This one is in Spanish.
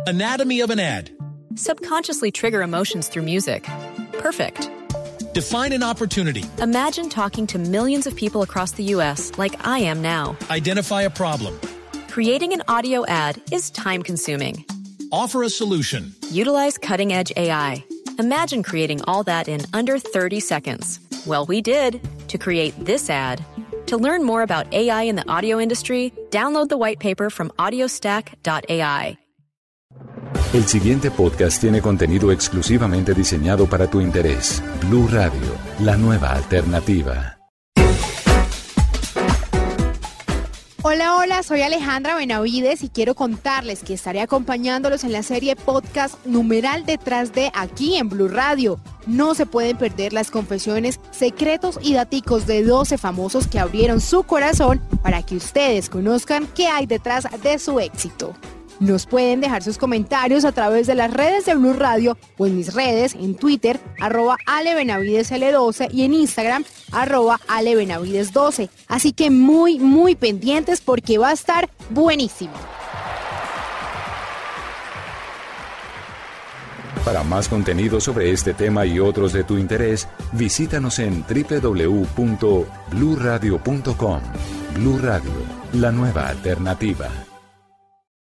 Anatomy of an ad. Subconsciously trigger emotions through music. Perfect. Define an opportunity. Imagine talking to millions of people across the U.S. like I am now. Identify a problem. Creating an audio ad is time-consuming. Offer a solution. Utilize cutting-edge AI. Imagine creating all that in under 30 seconds. Well, we did to create this ad. To learn more about AI in the audio industry, download the white paper from audiostack.ai. El siguiente podcast tiene contenido exclusivamente diseñado para tu interés. Blue Radio, la nueva alternativa. Hola, soy Alejandra Benavides y quiero contarles que estaré acompañándolos en la serie podcast Numeral Detrás de aquí en Blue Radio. No se pueden perder las confesiones, secretos y daticos de 12 famosos que abrieron su corazón para que ustedes conozcan qué hay detrás de su éxito. Nos pueden dejar sus comentarios a través de las redes de Blue Radio o en mis redes, en Twitter, @AleBenavidesL12 y en Instagram, @AleBenavides12. Así que muy pendientes porque va a estar buenísimo. Para más contenido sobre este tema y otros de tu interés, visítanos en www.bluradio.com. Blue Radio, la nueva alternativa.